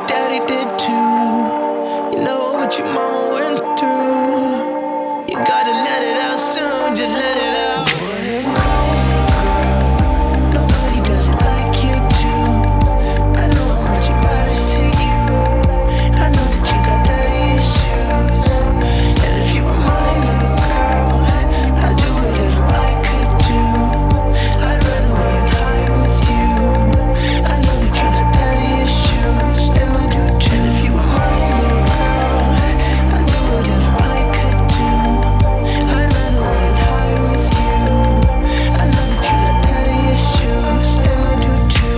daddy did too. You know what your mama went through. You gotta let it out soon, just let it out. Nobody does it like you do. I know how much it matters to you. I know that you got daddy issues. And if you were my little girl, I'd do whatever I could do. I'd run away and hide with you. I know that you got daddy issues, and I do too. And if you were my little girl, I'd do whatever I could do. I'd run away and hide with you. I know that you got daddy issues, and I do too.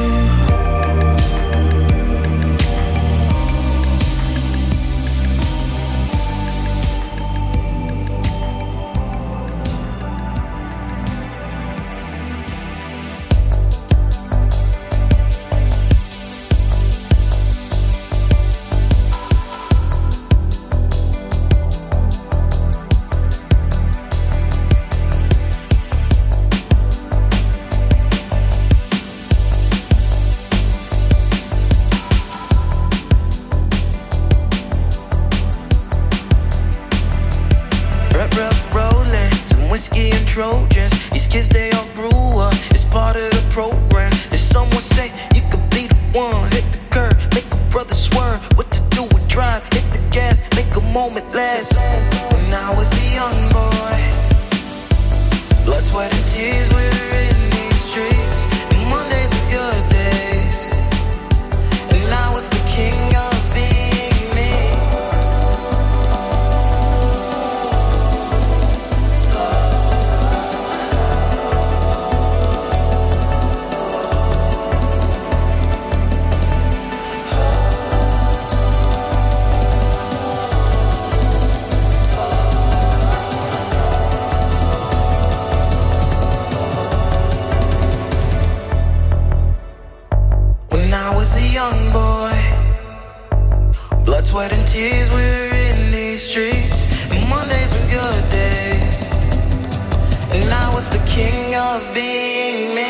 Rolling, some whiskey and Trojans. These kids, they all grew up. It's part of the program. If someone say you could be the one, hit the curb, make a brother swerve. What to do with drive? Hit the gas, make a moment last. When I was a young boy, blood, sweat, and tears, we were in these streets. And Mondays were good days, and I was the king of being me. When I was a young boy, blood, sweat, and tears, we were in these streets. And Mondays were good days, and I was the king of being me.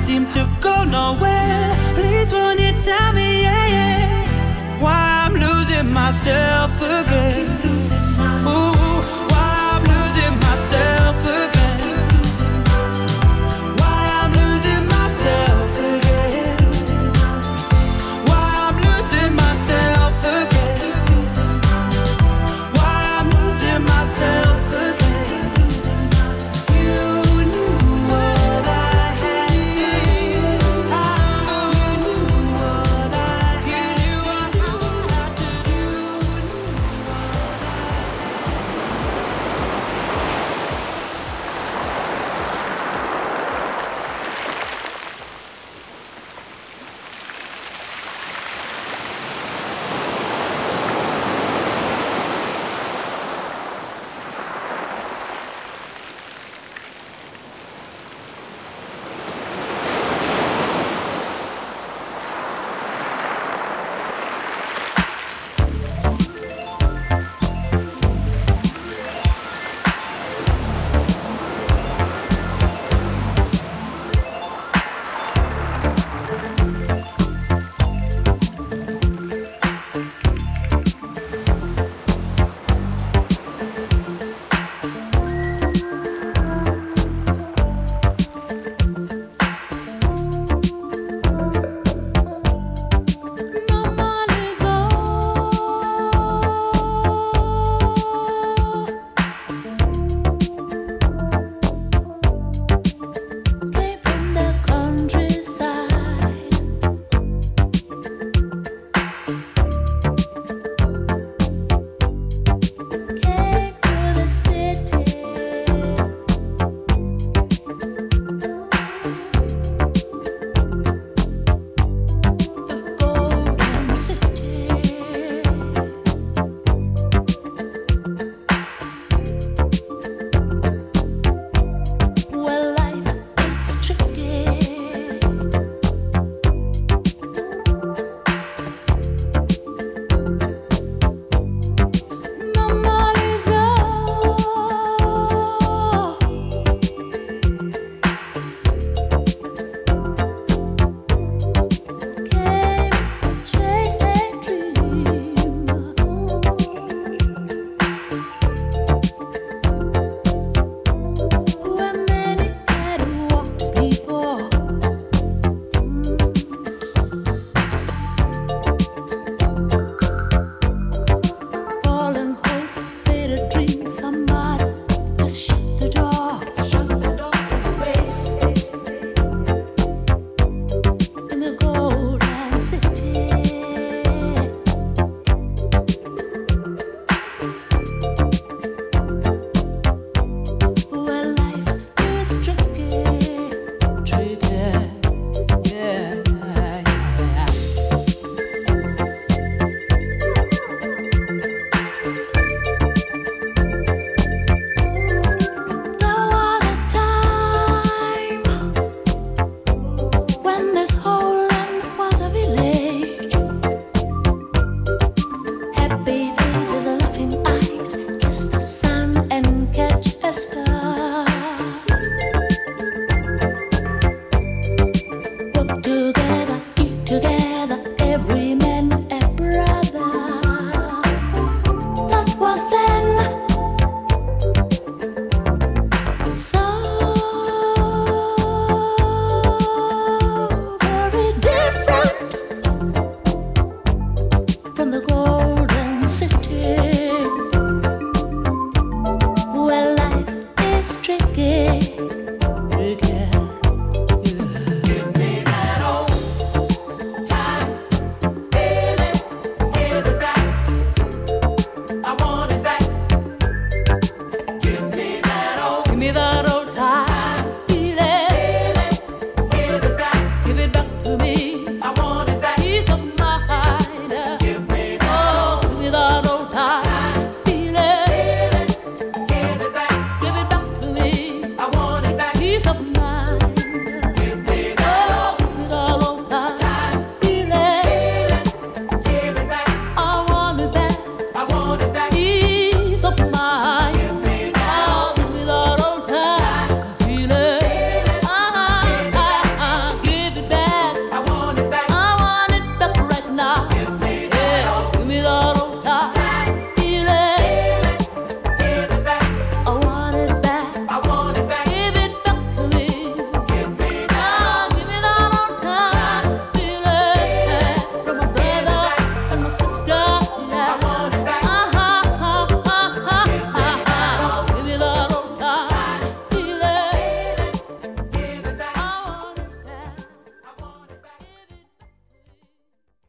seem to go nowhere. Please won't you tell me, yeah, yeah, why I'm losing myself again? Ooh, why I'm losing myself again? Why I'm losing myself again? Why I'm losing myself again? Why I'm losing myself again? You knew what I had to do. You knew what I had to do. Together